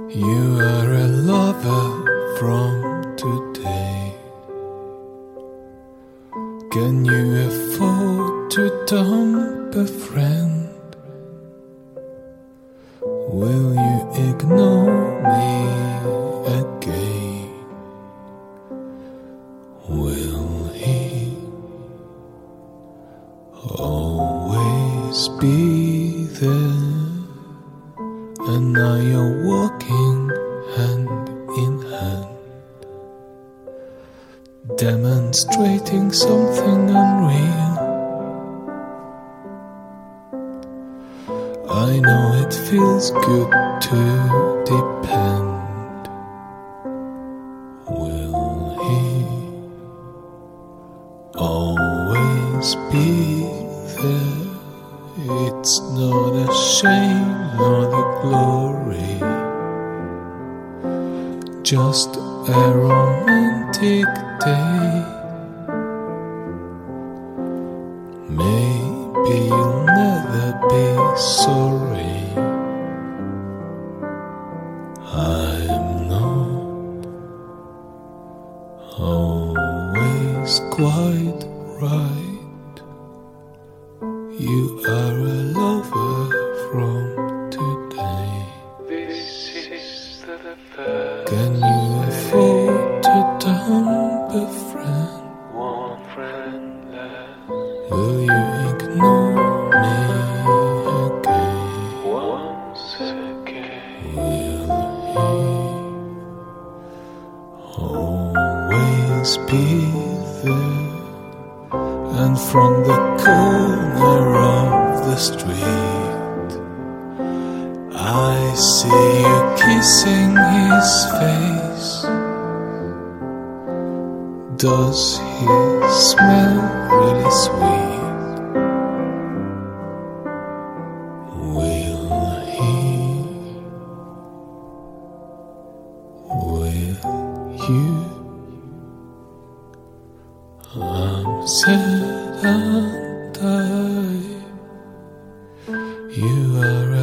You are a lover from today. Can you afford to dump a friend? Will you ignore me again? Will he always be there? And now you're walking hand in hand, demonstrating something unreal. I know it feels good to depend. Will he always be there? It's not a shame nor the glory, just a romantic day. Maybe you'll never be sorry. I'm not always quite right. You are a lover from today. This is the first. Can you afford to dump a friend? One friend less. Will you ignore me again? Once again. Will he always be there? And from the corner of the street, I see you kissing his face. Does he smell really sweet? Will he? Will you? I'm sad and I. You are